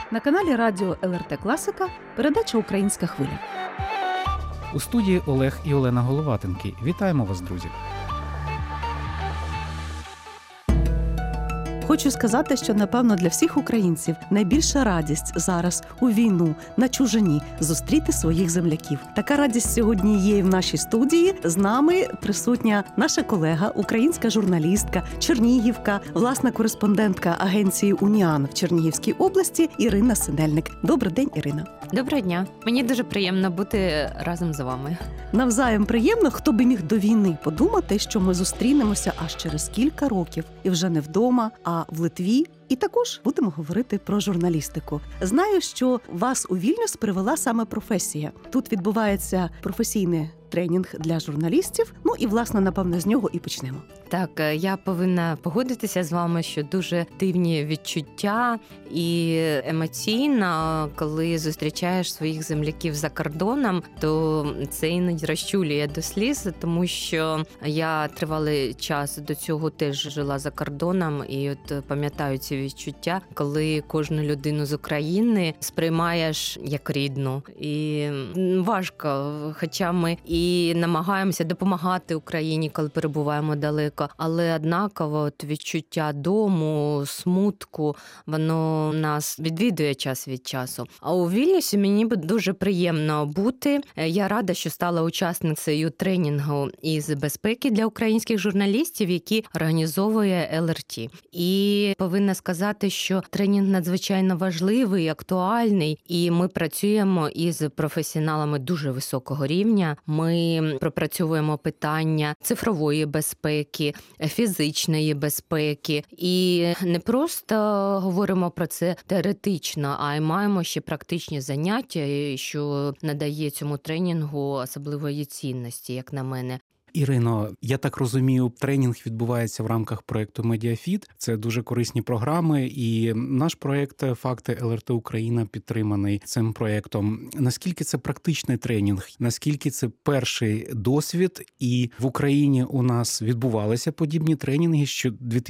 На каналі Радіо ЛРТ Класика передача «Українська хвиля». У студії Олег і Олена Головатенки. Вітаємо вас, друзі! Хочу сказати, що, напевно, для всіх українців найбільша радість зараз у війну на чужині зустріти своїх земляків. Така радість сьогодні є і в нашій студії. З нами присутня наша колега, українська журналістка, чернігівка, власна кореспондентка агенції «Уніан» в Чернігівській області Ірина Синельник. Добрий день, Ірина. Доброго дня. Мені дуже приємно бути разом з вами. Навзаєм приємно, хто би міг до війни подумати, що ми зустрінемося аж через кілька років і вже не вдома, а в Литві. І також будемо говорити про журналістику. Знаю, що вас у Вільнюс привела саме професія. Тут відбувається професійний тренінг для журналістів. Ну і, власне, напевно, з нього і почнемо. Так, я повинна погодитися з вами, що дуже дивні відчуття і емоційно, коли зустрічаєш своїх земляків за кордоном, то це іноді розчулює до сліз, тому що я тривалий час до цього теж жила за кордоном, і от пам'ятаю ці відчуття, коли кожну людину з України сприймаєш як рідну. І важко, хоча ми і намагаємося допомагати Україні, коли перебуваємо далеко, але однаково от відчуття дому, смутку, воно нас відвідує час від часу. А у Вільнюсі мені дуже приємно бути. Я рада, що стала учасницею тренінгу із безпеки для українських журналістів, які організовує ЛРТ. І повинна сказати, що тренінг надзвичайно важливий, актуальний, і ми працюємо із професіоналами дуже високого рівня. Ми пропрацьовуємо питання цифрової безпеки, фізичної безпеки. І не просто говоримо про це теоретично, а й маємо ще практичні заняття, що надає цьому тренінгу особливої цінності, як на мене. Ірино, я так розумію, тренінг відбувається в рамках проєкту «Медіафіт». Це дуже корисні програми, і наш проєкт «Факти ЛРТ Україна» підтриманий цим проєктом. Наскільки це практичний тренінг? Наскільки це перший досвід? І в Україні у нас відбувалися подібні тренінги ще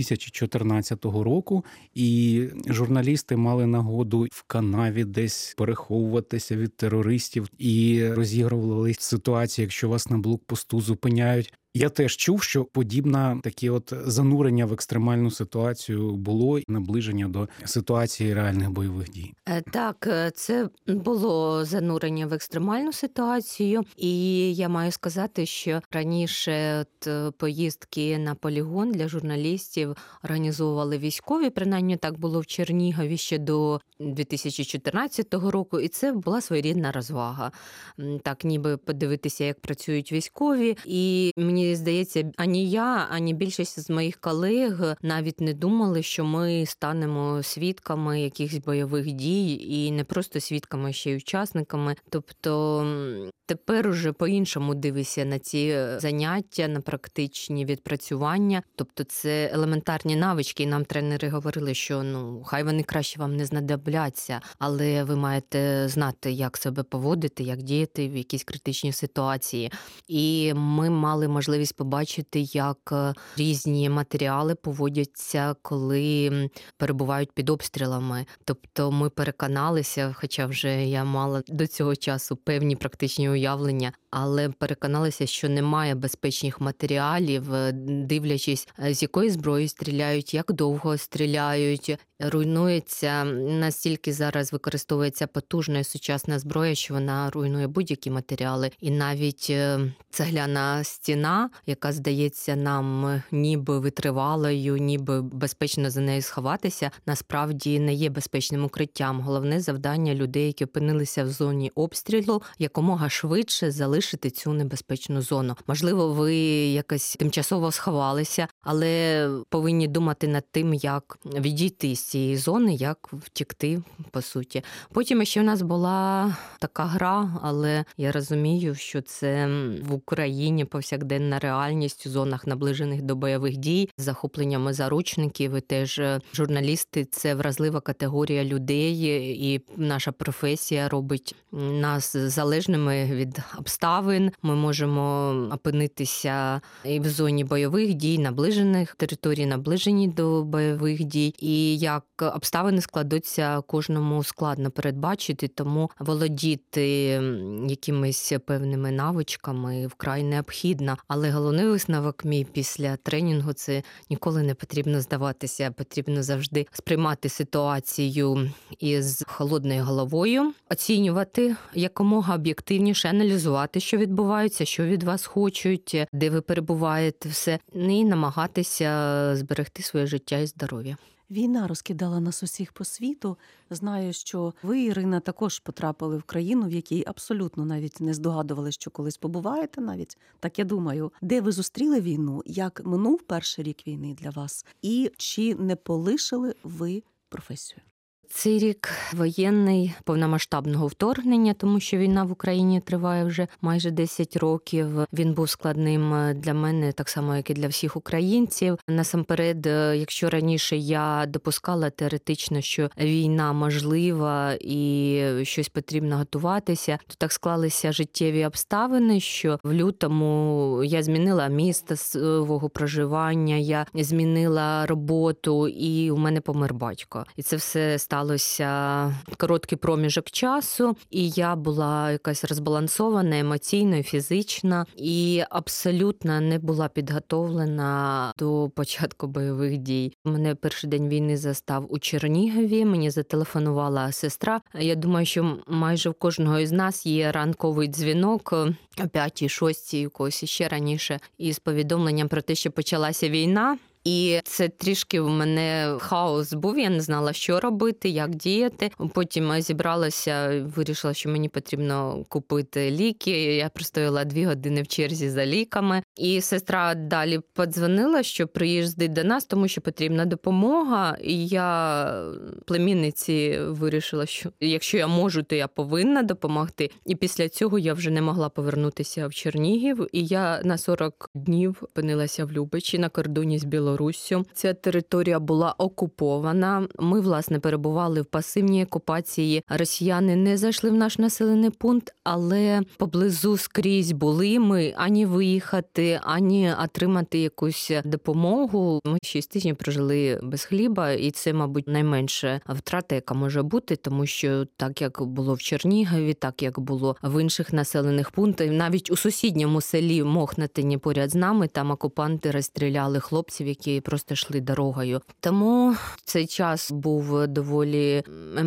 2014 року, і журналісти мали нагоду в канаві десь переховуватися від терористів і розігрували ситуації, якщо вас на блокпосту зупиняють. Я теж чув, що подібне таке от занурення в екстремальну ситуацію було, наближення до ситуації реальних бойових дій. Так, це було занурення в екстремальну ситуацію, і я маю сказати, що раніше поїздки на полігон для журналістів організовували військові, принаймні так було в Чернігові ще до 2014 року, і це була своєрідна розвага. Так, ніби подивитися, як працюють військові, і мені здається, ані я, ані більшість з моїх колег навіть не думали, що ми станемо свідками якихось бойових дій, і не просто свідками, ще й учасниками. Тобто тепер уже по-іншому дивишся на ці заняття, на практичні відпрацювання. Тобто це елементарні навички, і нам тренери говорили, що хай вони краще вам не знадобляться, але ви маєте знати, як себе поводити, як діяти в якійсь критичній ситуації. І ми мали можливість побачити, як різні матеріали поводяться, коли перебувають під обстрілами. Тобто ми переконалися, хоча вже я мала до цього часу певні практичні уявлення, але переконалися, що немає безпечних матеріалів, дивлячись, з якої зброї стріляють, як довго стріляють. Руйнується, настільки зараз використовується потужна і сучасна зброя, що вона руйнує будь-які матеріали. І навіть цегляна стіна, яка здається нам ніби витривалою, ніби безпечно за нею сховатися, насправді не є безпечним укриттям. Головне завдання людей, які опинилися в зоні обстрілу, якомога швидше залишити цю небезпечну зону. Можливо, ви якось тимчасово сховалися, але повинні думати над тим, як відійти з цієї зони, як втекти, по суті. Потім ще в нас була така гра, але я розумію, що це в Україні повсякденна реальність у зонах, наближених до бойових дій, з захопленнями заручників. І теж журналісти – це вразлива категорія людей, і наша професія робить нас залежними від обставин. Ми можемо опинитися і в зоні бойових дій, наближених територій, наближені до бойових дій. І я як обставини складуться, кожному складно передбачити, тому володіти якимись певними навичками вкрай необхідно. Але головний висновок мій після тренінгу – це ніколи не потрібно здаватися, потрібно завжди сприймати ситуацію із холодною головою, оцінювати якомога об'єктивніше, аналізувати, що відбувається, що від вас хочуть, де ви перебуваєте, все, і намагатися зберегти своє життя і здоров'я. Війна розкидала нас усіх по світу. Знаю, що ви, Ірина, також потрапили в країну, в якій абсолютно навіть не здогадували, що колись побуваєте навіть. Так я думаю, де ви зустріли війну, як минув перший рік війни для вас, і чи не полишили ви професію? Цей рік воєнний повномасштабного вторгнення, тому що війна в Україні триває вже майже 10 років. Він був складним для мене, так само, як і для всіх українців. Насамперед, якщо раніше я допускала теоретично, що війна можлива і щось потрібно готуватися, то так склалися життєві обставини, що в лютому я змінила місце свого проживання, я змінила роботу, і у мене помер батько. І це все сталося короткий проміжок часу, і я була якась розбалансована емоційно, фізично, і абсолютно не була підготовлена до початку бойових дій. Мене перший день війни застав у Чернігові, мені зателефонувала сестра. Я думаю, що майже в кожного із нас є ранковий дзвінок о 5-й, 6-й, у когось ще раніше, із повідомленням про те, що почалася війна. І це трішки в мене хаос був, я не знала, що робити, як діяти. Потім зібралася, вирішила, що мені потрібно купити ліки. Я простояла 2 години в черзі за ліками. І сестра далі подзвонила, що приїздить до нас, тому що потрібна допомога. І я племінниці вирішила, що якщо я можу, то я повинна допомогти. І після цього я вже не могла повернутися в Чернігів. І я на 40 днів опинилася в Любичі на кордоні з Білоруссю. Ця територія була окупована. Ми, власне, перебували в пасивній окупації. Росіяни не зайшли в наш населений пункт, але поблизу скрізь були. Ми ані виїхати, ані отримати якусь допомогу. Ми 6 тижнів прожили без хліба, і це, мабуть, найменша втрата, яка може бути, тому що так, як було в Чернігові, так, як було в інших населених пунктах, навіть у сусідньому селі Мохнатині поряд з нами, там окупанти розстріляли хлопців, які просто йшли дорогою. Тому цей час був доволі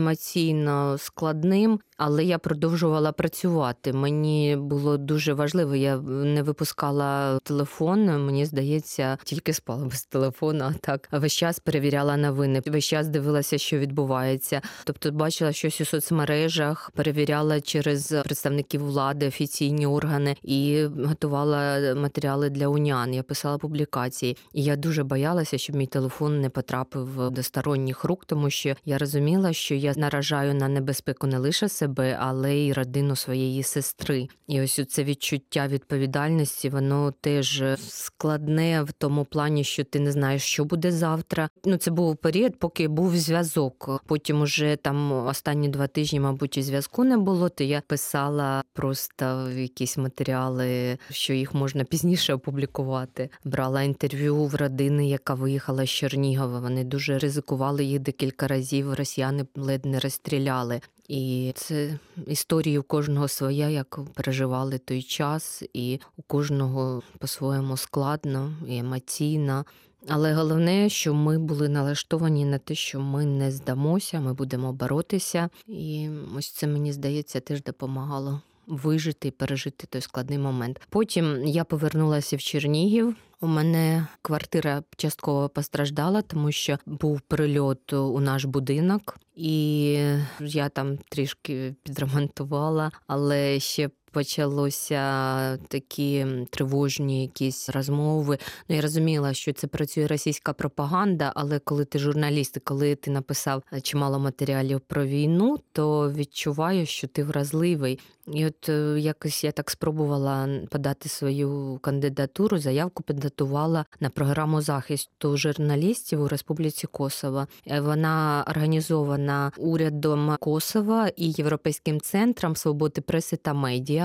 емоційно складним, але я продовжувала працювати. Мені було дуже важливо, я не випускала телефон, мені здається, тільки спала без телефону, а так весь час перевіряла новини, весь час дивилася, що відбувається. Тобто бачила щось у соцмережах, перевіряла через представників влади, офіційні органи і готувала матеріали для унян. Я писала публікації. І я дуже боялася, щоб мій телефон не потрапив до сторонніх рук, тому що я розуміла, що я наражаю на небезпеку не лише себе, але й родину своєї сестри. І ось це відчуття відповідальності, воно теж складне в тому плані, що ти не знаєш, що буде завтра. Це був період, поки був зв'язок. Потім уже там останні 2 тижні, мабуть, і зв'язку не було, то я писала просто якісь матеріали, що їх можна пізніше опублікувати. Брала інтерв'ю в родини, яка виїхала з Чернігова. Вони дуже ризикували, їх декілька разів росіяни ледь не розстріляли. І це історія у кожного своя, як переживали той час, і у кожного по-своєму складно і емоційно. Але головне, що ми були налаштовані на те, що ми не здамося, ми будемо боротися. І ось це, мені здається, теж допомагало вижити і пережити той складний момент. Потім я повернулася в Чернігів. У мене квартира частково постраждала, тому що був прильот у наш будинок, і я там трішки підремонтувала, але ще почалося такі тривожні якісь розмови. Я розуміла, що це працює російська пропаганда, але коли ти журналіст, коли ти написав чимало матеріалів про війну, то відчуваєш, що ти вразливий. І от якось я так спробувала подати свою кандидатуру, заявку підготувала на програму захисту журналістів у Республіці Косово. Вона організована урядом Косова і Європейським центром свободи преси та медіа.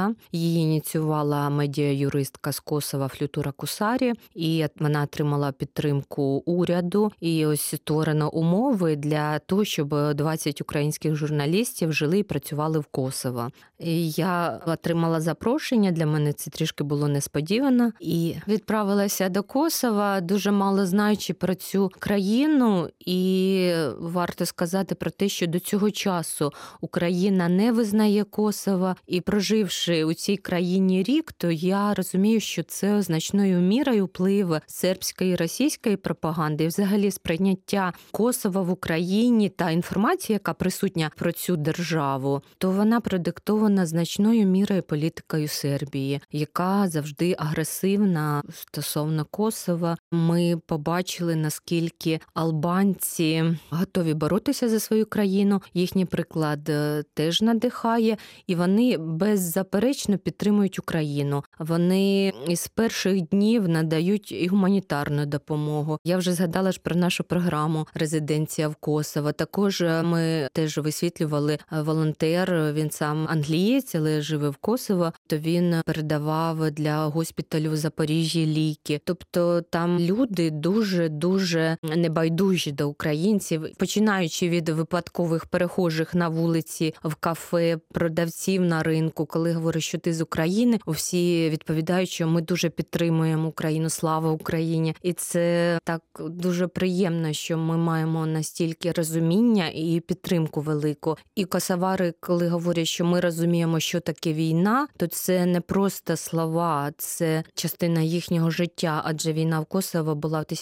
Рада. Її ініціювала медіа-юристка з Косова Флютура Кусарі, і вона отримала підтримку уряду. І ось створено умови для того, щоб 20 українських журналістів жили і працювали в Косово. І я отримала запрошення, для мене це трішки було несподівано, і відправилася до Косова, дуже мало знаючи про цю країну, і варто сказати про те, що до цього часу Україна не визнає Косово, і проживши у цій країні рік, то я розумію, що це значною мірою вплив сербської і російської пропаганди, і взагалі сприйняття Косова в Україні та інформація, яка присутня про цю державу, то вона продиктована значною мірою політикою Сербії, яка завжди агресивна стосовно Косова. Ми побачили, наскільки албанці готові боротися за свою країну. Їхній приклад теж надихає, і вони беззаперечно підтримують Україну. Вони із перших днів надають і гуманітарну допомогу. Я вже згадала ж про нашу програму «Резиденція в Косово». Також ми теж висвітлювали волонтер, він сам англієць, але живе в Косово, то він передавав для госпіталю в Запоріжжі ліки. Тобто там люди дуже небайдужі до українців, починаючи від випадкових перехожих на вулиці, в кафе, продавців на ринку. Коли говорять, що ти з України, всі відповідають, що ми дуже підтримуємо Україну, слава Україні. І це так дуже приємно, що ми маємо настільки розуміння і підтримку велику. І косовари, коли говорять, що ми розуміємо, що таке війна, то це не просто слова, це частина їхнього життя, адже війна в Косово була в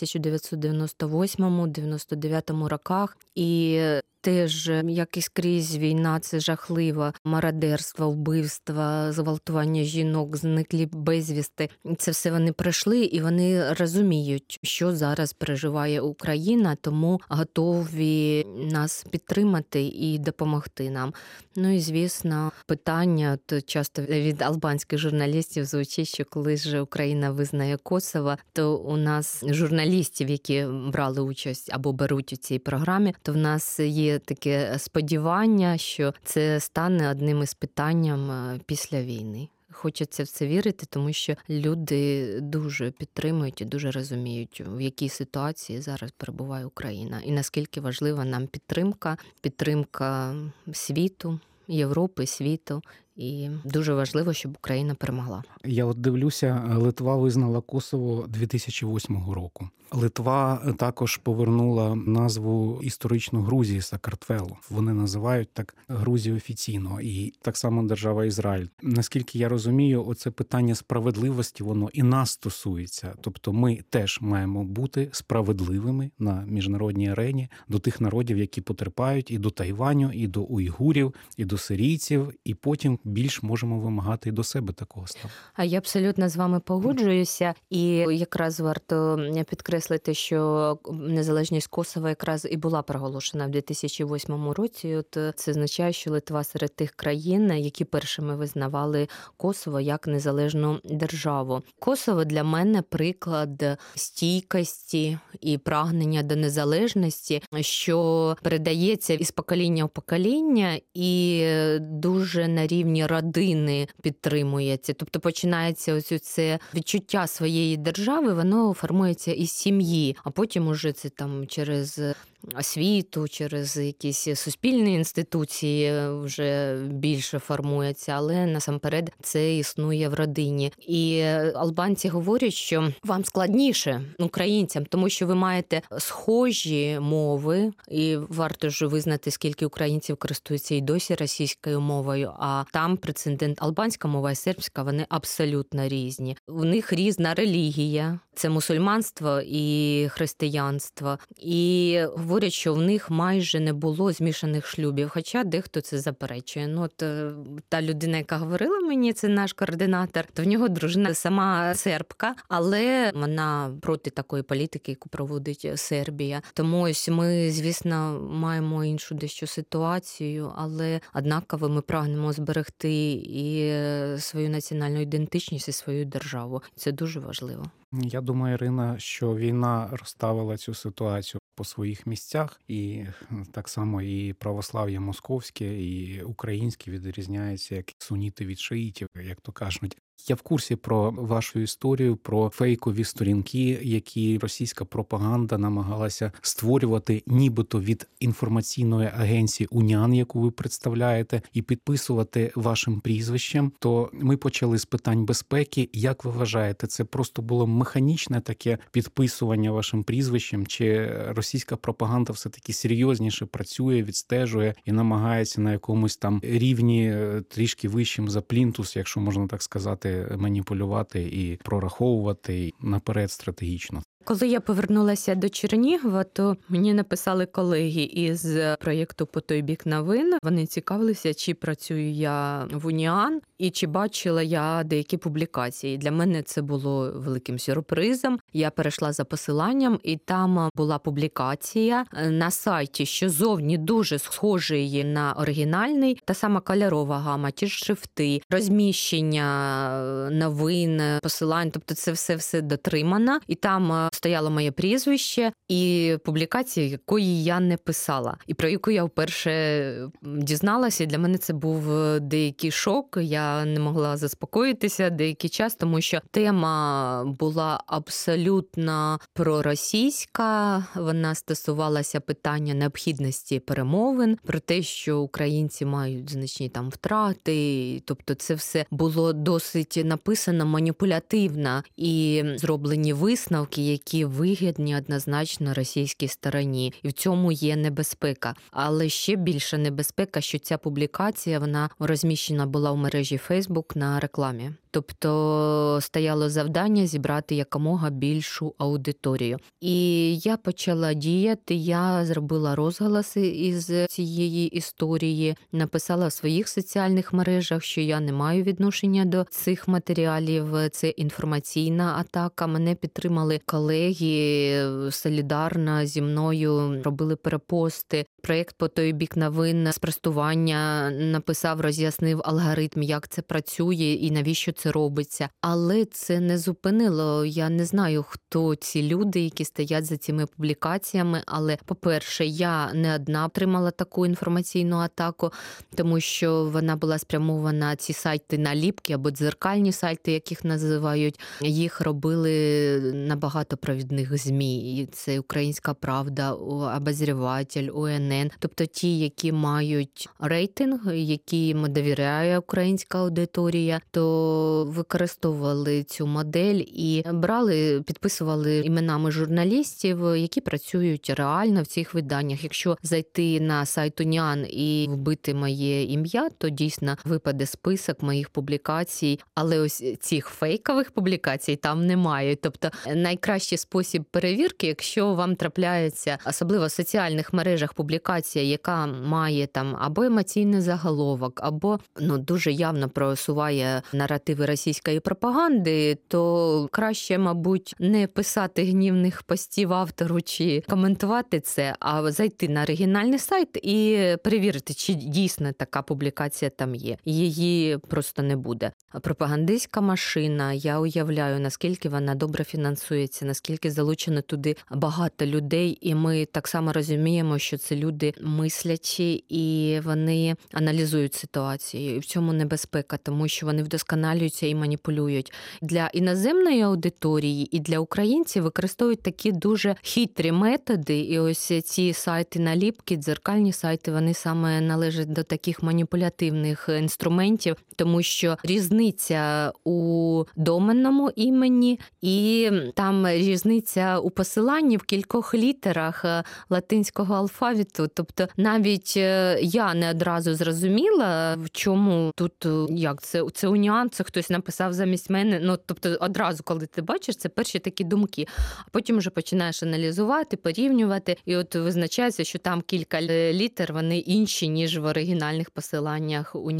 1998-99 роках, і теж, як і скрізь, війна – це жахливо. Мародерство, вбивства, зґвалтування жінок, зниклі безвісти. Це все вони пройшли, і вони розуміють, що зараз переживає Україна, тому готові нас підтримати і допомогти нам. Ну і, звісно, питання часто від албанських журналістів звучить, що коли ж Україна визнає Косово, то у нас журналістів, які брали участь або беруть у цій програмі, то в нас є таке сподівання, що це стане одним із питанням після війни. Хочеться в це вірити, тому що люди дуже підтримують і дуже розуміють, в якій ситуації зараз перебуває Україна. І наскільки важлива нам підтримка світу, Європи, світу. І дуже важливо, щоб Україна перемогла. Я от дивлюся, Литва визнала Косово 2008 року. Литва також повернула назву історичну Грузії Сакартвелу. Вони називають так Грузію офіційно. І так само держава Ізраїль. Наскільки я розумію, оце питання справедливості, воно і нас стосується. Тобто ми теж маємо бути справедливими на міжнародній арені до тих народів, які потерпають, і до Тайваню, і до уйгурів, і до сирійців, і потім більш можемо вимагати і до себе такого ставу. А я абсолютно з вами погоджуюся. І якраз варто підкреслити, що незалежність Косова якраз і була проголошена в 2008 році. От це означає, що Литва серед тих країн, які першими визнавали Косово як незалежну державу. Косово для мене приклад стійкості і прагнення до незалежності, що передається із покоління в покоління і дуже на рівні родини підтримується. Тобто починається ось це відчуття своєї держави, воно формується із сім'ї, а потім уже це там через освіту, через якісь суспільні інституції вже більше формується, але насамперед це існує в родині. І албанці говорять, що вам складніше, українцям, тому що ви маєте схожі мови, і варто ж визнати, скільки українців користуються і досі російською мовою, а там прецедент албанська мова і сербська, вони абсолютно різні. У них різна релігія, це мусульманство і християнство. І говорять, що в них майже не було змішаних шлюбів, хоча дехто це заперечує. Ну, от та людина, яка говорила мені, це наш координатор, то в нього дружина сама сербка, але вона проти такої політики, яку проводить Сербія. Тому ось ми, звісно, маємо іншу дещо ситуацію, але однаково ми прагнемо зберегти і свою національну ідентичність, і свою державу. Це дуже важливо. Я думаю, Ірина, що війна розставила цю ситуацію по своїх місцях, і так само і православ'я московське, і українське відрізняється як суніти від шиїтів, як то кажуть. Я в курсі про вашу історію, про фейкові сторінки, які російська пропаганда намагалася створювати нібито від інформаційної агенції УНІАН, яку ви представляєте, і підписувати вашим прізвищем. То ми почали з питань безпеки. Як ви вважаєте, це просто було механічне таке підписування вашим прізвищем, чи російська пропаганда все-таки серйозніше працює, відстежує і намагається на якомусь там рівні трішки вищим за плінтус, якщо можна так сказати, маніпулювати і прораховувати наперед стратегічно? Коли я повернулася до Чернігова, то мені написали колеги із проєкту «По той бік новин». Вони цікавилися, чи працюю я в УНІАН і чи бачила я деякі публікації. Для мене це було великим сюрпризом. Я перейшла за посиланням, і там була публікація на сайті, що зовні дуже схожий на оригінальний. Та сама кольорова гама, ті ж шрифти, розміщення новин, посилань. Тобто це все дотримано. І там стояло моє прізвище і публікація, якої я не писала. І про яку я вперше дізналася. І для мене це був деякий шок. Я не могла заспокоїтися деякий час, тому що тема була абсолютно проросійська. Вона стосувалася питання необхідності перемовин, про те, що українці мають значні там втрати. Тобто це все було досить написано маніпулятивно і зроблені висновки, які вигідні однозначно російській стороні. І в цьому є небезпека. Але ще більша небезпека, що ця публікація, вона розміщена була в мережі Facebook на рекламі. Тобто стояло завдання зібрати якомога більшу аудиторію. І я почала діяти, я зробила розголоси із цієї історії, написала в своїх соціальних мережах, що я не маю відношення до цих матеріалів, це інформаційна атака. Мене підтримали колеги солідарно зі мною, робили перепости. Проєкт «По той бік новин» спростування написав, роз'яснив алгоритм, як це працює і навіщо це робиться. Але це не зупинило. Я не знаю, хто ці люди, які стоять за цими публікаціями. Але, по-перше, я не одна отримала таку інформаційну атаку, тому що вона була спрямована, ці сайти наліпки або дзеркальні сайти, яких називають. Їх робили на багатопровідних ЗМІ. І це «Українська правда», «Обозріватель», УНН. Тобто ті, які мають рейтинг, яким довіряє українська аудиторія, то використовували цю модель і брали, підписували іменами журналістів, які працюють реально в цих виданнях. Якщо зайти на сайт УНІАН і вбити моє ім'я, то дійсно випаде список моїх публікацій, але ось цих фейкових публікацій там немає. Тобто найкращий спосіб перевірки, якщо вам трапляється, особливо в соціальних мережах, публікація, яка має там або емоційний заголовок, або дуже явно просуває наративи російської пропаганди, то краще, мабуть, не писати гнівних постів автору чи коментувати це, а зайти на оригінальний сайт і перевірити, чи дійсно така публікація там є. Її просто не буде. Пропагандистська машина, я уявляю, наскільки вона добре фінансується, наскільки залучено туди багато людей, і ми так само розуміємо, що це люди мислячі, і вони аналізують ситуацію. І в цьому небезпека, тому що вони вдосконалюються і маніпулюють. Для іноземної аудиторії і для українців використовують такі дуже хитрі методи, і ось ці сайти-наліпки, дзеркальні сайти, вони саме належать до таких маніпулятивних інструментів, тому що різниця у доменному імені і там різниця у посиланні в кількох літерах латинського алфавіту. Тобто навіть я не одразу зрозуміла, в чому тут, як це УНІАН, це хтось написав замість мене. Тобто одразу, коли ти бачиш, це перші такі думки. А потім вже починаєш аналізувати, порівнювати, і от визначається, що там кілька літер, вони інші, ніж в оригінальних посиланнях УНІАН.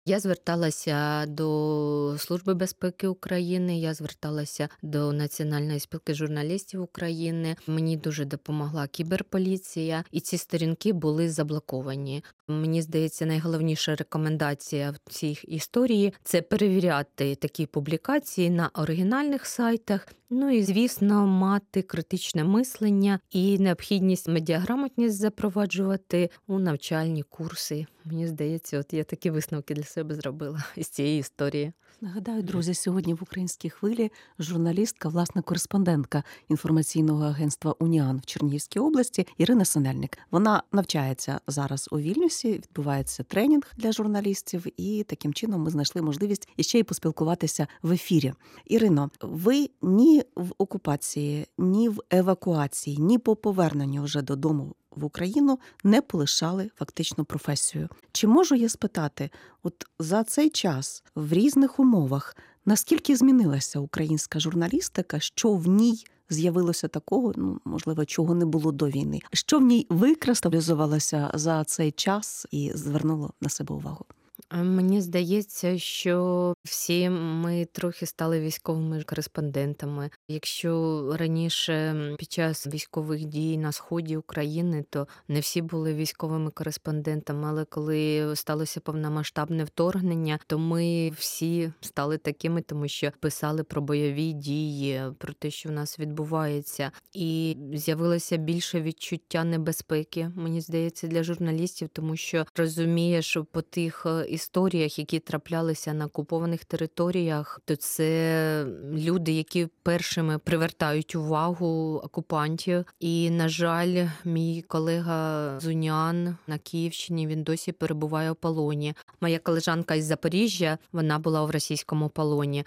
Я зверталася до Служби безпеки України, я зверталася до Національної спілки журналістів України. Мені дуже допомогла кіберполіція, і ці сторінки були заблоковані. Мені здається, найголовніша рекомендація в цій історії – це перевіряти такі публікації на оригінальних сайтах, ну і, звісно, мати критичне мислення і необхідність медіаграмотність запроваджувати у навчальні курси. Мені здається, от я такі висновки для себе зробила із цієї історії. Нагадаю, друзі, сьогодні в «Українській хвилі» журналістка, власне, кореспондентка інформаційного агентства «Уніан» в Чернігівській області Ірина Синельник. Вона навчається зараз у Вільнюсі, відбувається тренінг для журналістів, і таким чином ми знайшли можливість іще й поспілкуватися в ефірі. Ірино, ви ні в окупації, ні в евакуації, ні по поверненню вже додому в Україну не полишали фактично професію. Чи можу я спитати, от за цей час в різних умовах, наскільки змінилася українська журналістика, що в ній з'явилося такого, можливо, чого не було до війни? Що в ній викристалізувалося за цей час і звернуло на себе увагу? Мені здається, що всі ми трохи стали військовими кореспондентами. Якщо раніше під час військових дій на сході України, то не всі були військовими кореспондентами, але коли сталося повномасштабне вторгнення, то ми всі стали такими, тому що писали про бойові дії, про те, що в нас відбувається. І з'явилося більше відчуття небезпеки, мені здається, для журналістів, тому що розумієш по тих історіях, які траплялися на окупованих територіях, то це люди, які першими привертають увагу окупантів. І, на жаль, мій колега з Уніан на Київщині, він досі перебуває у полоні. Моя колежанка із Запоріжжя, вона була в російському полоні.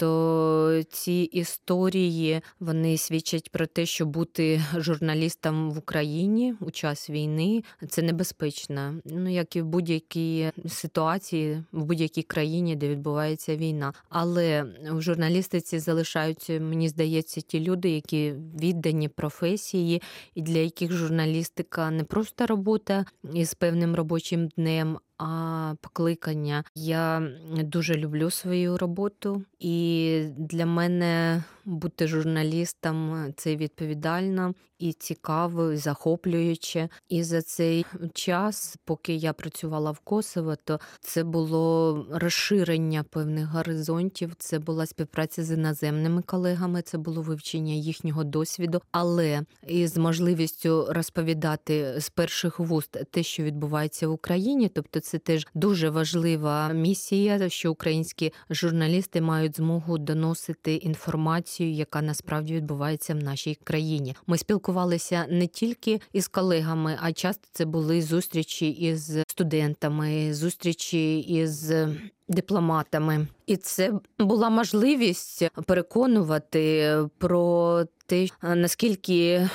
Тобто ці історії, вони свідчать про те, що бути журналістом в Україні у час війни – це небезпечно. Як і в будь-якій ситуації, в будь-якій країні, де відбувається війна. Але в журналістиці залишаються, мені здається, ті люди, які віддані професії, і для яких журналістика не просто робота із певним робочим днем, а покликання. Я дуже люблю свою роботу, і для мене бути журналістом – це відповідально і цікаво, і захоплююче. І за цей час, поки я працювала в Косово, то це було розширення певних горизонтів, це була співпраця з іноземними колегами, це було вивчення їхнього досвіду, але із можливістю розповідати з перших вуст те, що відбувається в Україні, тобто це теж дуже важлива місія, що українські журналісти мають змогу доносити інформацію, яка насправді відбувається в нашій країні. Ми спілкувалися не тільки із колегами, а часто це були зустрічі із студентами, зустрічі із дипломатами. І це була можливість переконувати про те, наскільки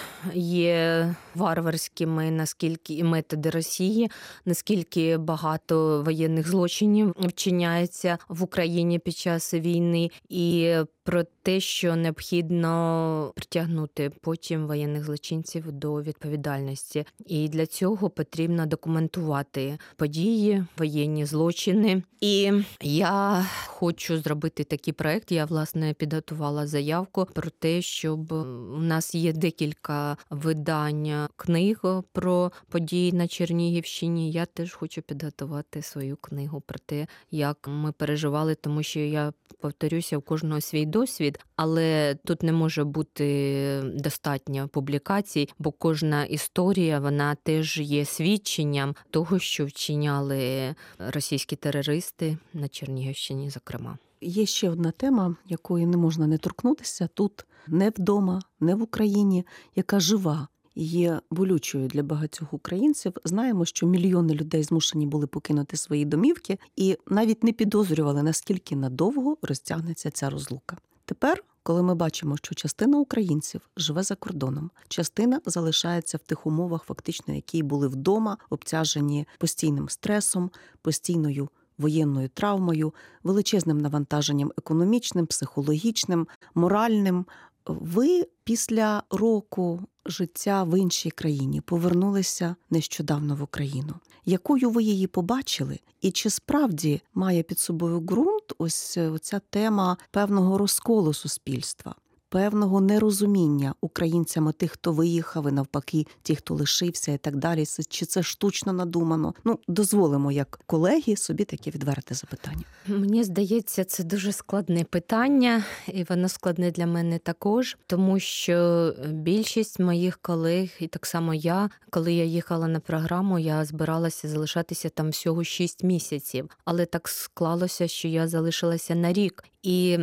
є варварськими, наскільки і методи Росії, наскільки багато воєнних злочинів вчиняється в Україні під час війни, і про те, що необхідно притягнути потім воєнних злочинців до відповідальності. І для цього потрібно документувати події, воєнні злочини. І я хочу зробити такий проект. Я, власне, підготувала заявку про те, щоб у нас є декілька видань книг про події на Чернігівщині. Я теж хочу підготувати свою книгу про те, як ми переживали, тому що я повторюся, у кожного свій досвід, але тут не може бути достатньо публікацій, бо кожна історія, вона теж є свідченням того, що вчиняли російські терористи на Чернігівщині, зокрема. Є ще одна тема, якої не можна не торкнутися тут, не вдома, не в Україні, яка жива і є болючою для багатьох українців. Знаємо, що мільйони людей змушені були покинути свої домівки і навіть не підозрювали, наскільки надовго розтягнеться ця розлука. Тепер, коли ми бачимо, що частина українців живе за кордоном, частина залишається в тих умовах, фактично, які були вдома, обтяжені постійним стресом, постійною воєнною травмою, величезним навантаженням економічним, психологічним, моральним, Ви після року життя в іншій країні повернулися нещодавно в Україну. Якою ви її побачили? І чи справді має під собою ґрунт ось ця тема певного розколу суспільства? Певного нерозуміння українцями тих, хто виїхав, і навпаки, ті, хто лишився і так далі. Чи це штучно надумано? Дозволимо, як колеги, собі таке відверте запитання. Мені здається, це дуже складне питання, і воно складне для мене також, тому що більшість моїх колег, і так само я, коли я їхала на програму, я збиралася залишатися там всього 6 місяців. Але так склалося, що я залишилася на рік. І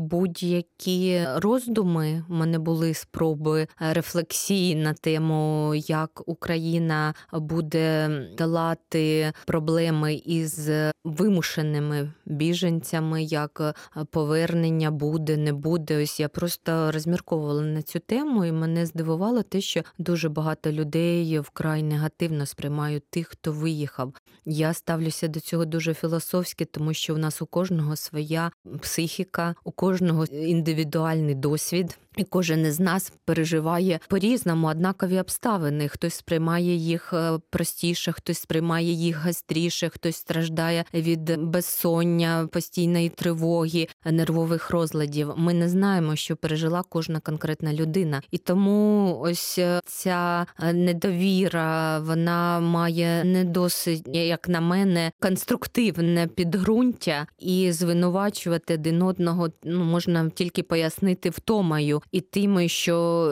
будь-які роздуми, в мене були спроби рефлексії на тему, як Україна буде долати проблеми із вимушеними біженцями, як повернення буде, не буде. Ось я просто розмірковувала на цю тему, і мене здивувало те, що дуже багато людей вкрай негативно сприймають тих, хто виїхав. Я ставлюся до цього дуже філософськи, тому що у нас у кожного своя психіка, у кожного індивідуальний досвід. І кожен із нас переживає по-різному однакові обставини. Хтось сприймає їх простіше, хтось сприймає їх гостріше, хтось страждає від безсоння, постійної тривоги, нервових розладів. Ми не знаємо, що пережила кожна конкретна людина. І тому ось ця недовіра, вона має не досить, як на мене, конструктивне підґрунтя, і звинувачувати один одного можна тільки пояснити втомою і тим, що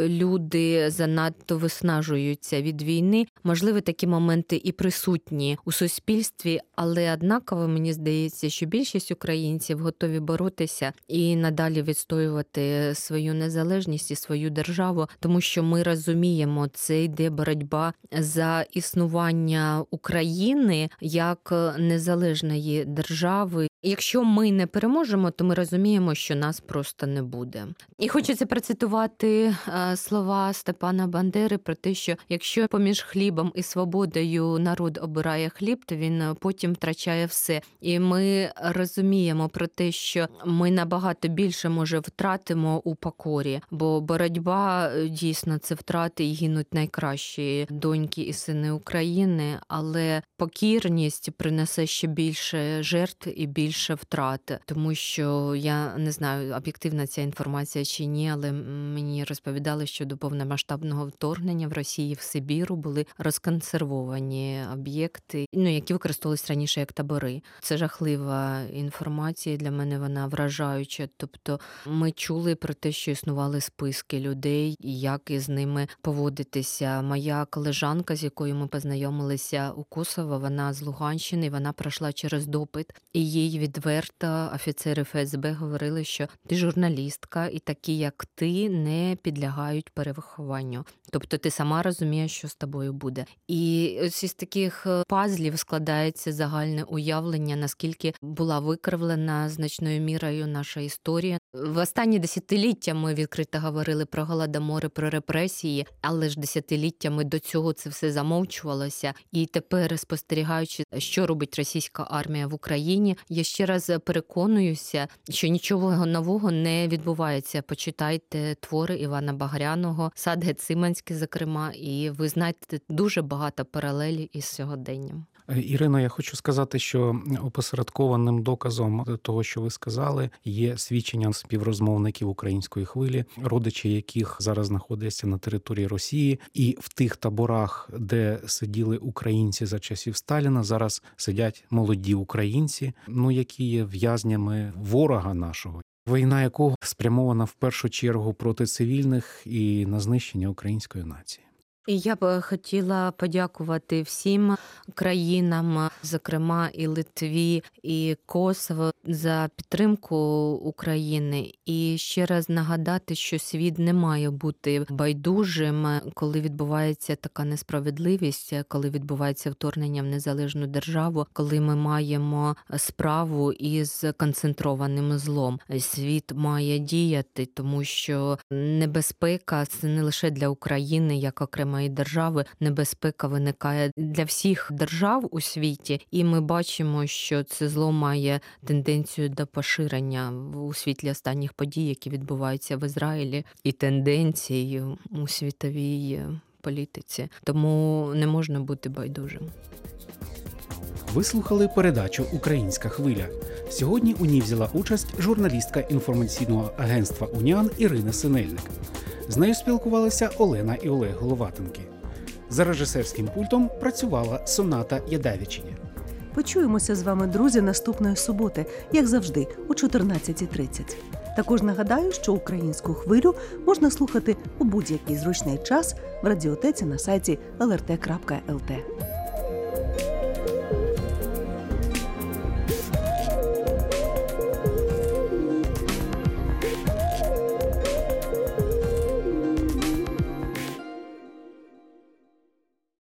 люди занадто виснажуються від війни. Можливо, такі моменти і присутні у суспільстві, але однаково мені здається, що більшість українців готові боротися і надалі відстоювати свою незалежність і свою державу, тому що ми розуміємо, це йде боротьба за існування України як незалежної держави. Якщо ми не переможемо, то ми розуміємо, що нас просто не буде. І хочеться процитувати слова Степана Бандери про те, що якщо поміж хлібом і свободою народ обирає хліб, то він потім втрачає все. І ми розуміємо про те, що ми набагато більше, може, втратимо у покорі, бо боротьба дійсно це втрати, і гинуть найкращі доньки і сини України, але покірність принесе ще більше жертв і більше втрат, тому що я не знаю, об'єктивна ця інформація чи ні, але мені розповідали, що до повномасштабного вторгнення в Росії в Сибіру були розконсервовані об'єкти, які використовувалися раніше як табори. Це жахлива інформація, для мене вона вражаюча. Тобто ми чули про те, що існували списки людей, і як із ними поводитися. Моя колежанка, з якою ми познайомилися у Косово, вона з Луганщини, вона пройшла через допит, і їй відверто офіцери ФСБ говорили, що ти журналістка, і такі, як ти, не підлягають перевихованню. Тобто ти сама розумієш, що з тобою буде. І ось із таких пазлів складається загальне уявлення, наскільки була викривлена значною мірою наша історія. В останні десятиліття ми відкрито говорили про голодомори, про репресії, але ж десятиліттями до цього це все замовчувалося. І тепер, спостерігаючи, що робить російська армія в Україні, я ще раз переконуюся, що нічого нового не відбувається. Почитайте твори Івана Багряного, Сад Гециманський, зокрема, і ви знайдете дуже багато паралелі із сьогоденням. Ірино, я хочу сказати, що опосередкованим доказом того, що ви сказали, є свідчення співрозмовників української хвилі, родичі яких зараз знаходяться на території Росії, і в тих таборах, де сиділи українці за часів Сталіна, зараз сидять молоді українці, які є в'язнями ворога нашого. Війна якого спрямована в першу чергу проти цивільних і на знищення української нації. І я б хотіла подякувати всім країнам, зокрема і Литві, і Косово, за підтримку України. І ще раз нагадати, що світ не має бути байдужим, коли відбувається така несправедливість, коли відбувається вторгнення в незалежну державу, коли ми маємо справу із концентрованим злом. Світ має діяти, тому що небезпека – це не лише для України як окремої окремої держави, небезпека виникає для всіх держав у світі. І ми бачимо, що це зло має тенденцію до поширення у світлі останніх подій, які відбуваються в Ізраїлі, і тенденцій у світовій політиці. Тому не можна бути байдужим. Ви слухали передачу «Українська хвиля». Сьогодні у ній взяла участь журналістка інформаційного агентства «Уніан» Ірина Синельник. З нею спілкувалися Олена і Олег Головатенки. За режисерським пультом працювала Соната Ядевичиня. Почуємося з вами, друзі, наступної суботи, як завжди, о 14:30. Також нагадаю, що «Українську хвилю» можна слухати у будь-який зручний час в радіотеці на сайті lrt.lt.